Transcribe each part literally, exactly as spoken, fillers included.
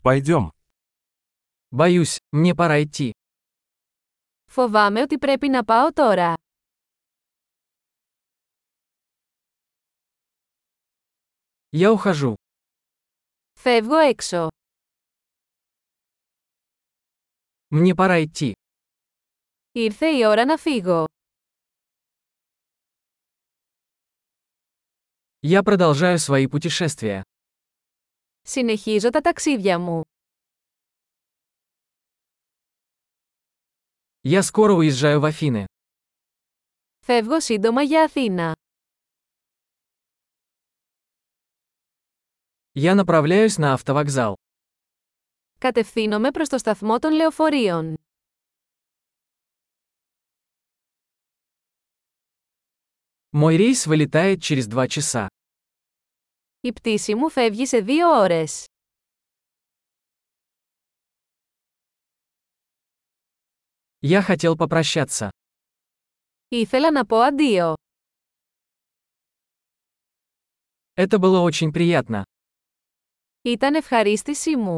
Пойдем. Боюсь, мне пора идти. Φοβάμαι ότι πρέπει να πάω τώρα. Я ухожу. Φεύγω έξω. Мне пора идти. Ήρθε η ώρα να φύγω. Я продолжаю свои путешествия. Συνεχίζω τα ταξίδια μου. Я скоро уезжаю в Афины. Φεύγω σύντομα για Αθήνα. Я направляюсь на автовокзал. Κατευθύνομαι προς το σταθμό των λεωφορείων. Мой рейс вылетает через два часа. Η πτήση μου φεύγει σε δύο ώρες. Я хотел попрощаться. Ήθελα να πω αντίο. Это было очень приятно. Ήταν ευχαρίστησή μου.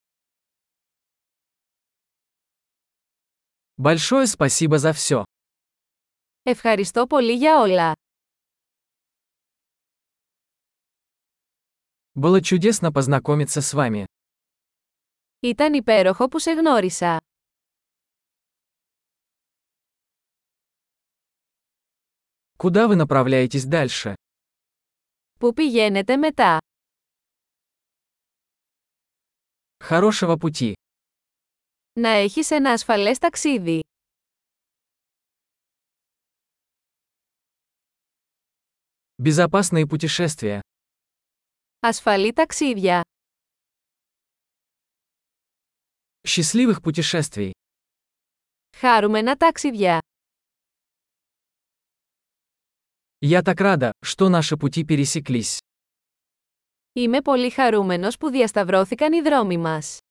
Большое спасибо за все. Ευχαριστώ πολύ για όλα. Было чудесно познакомиться с вами. Ήταν υπέροχο που σε γνώρισα. Куда вы направляетесь дальше? Πού πηγαίνετε μετά? Хорошего пути. Να έχεις ένα ασφαλές ταξίδι. Безопасные путешествия. Ασφαλή ταξίδια. Счастливых путешествий. Χάρουμενα ταξίδια. Я так рада, что наши пути пересеклись. Είμαι πολύ χαρούμενος που διασταυρώθηκαν οι δρόμοι μας.